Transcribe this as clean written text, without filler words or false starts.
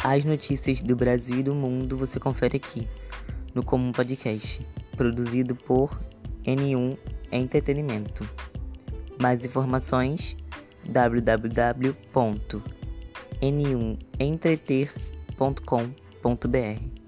As notícias do Brasil e do mundo você confere aqui, no Comum Podcast, produzido por N1 Entretenimento. Mais informações, www.n1entreter.com.br.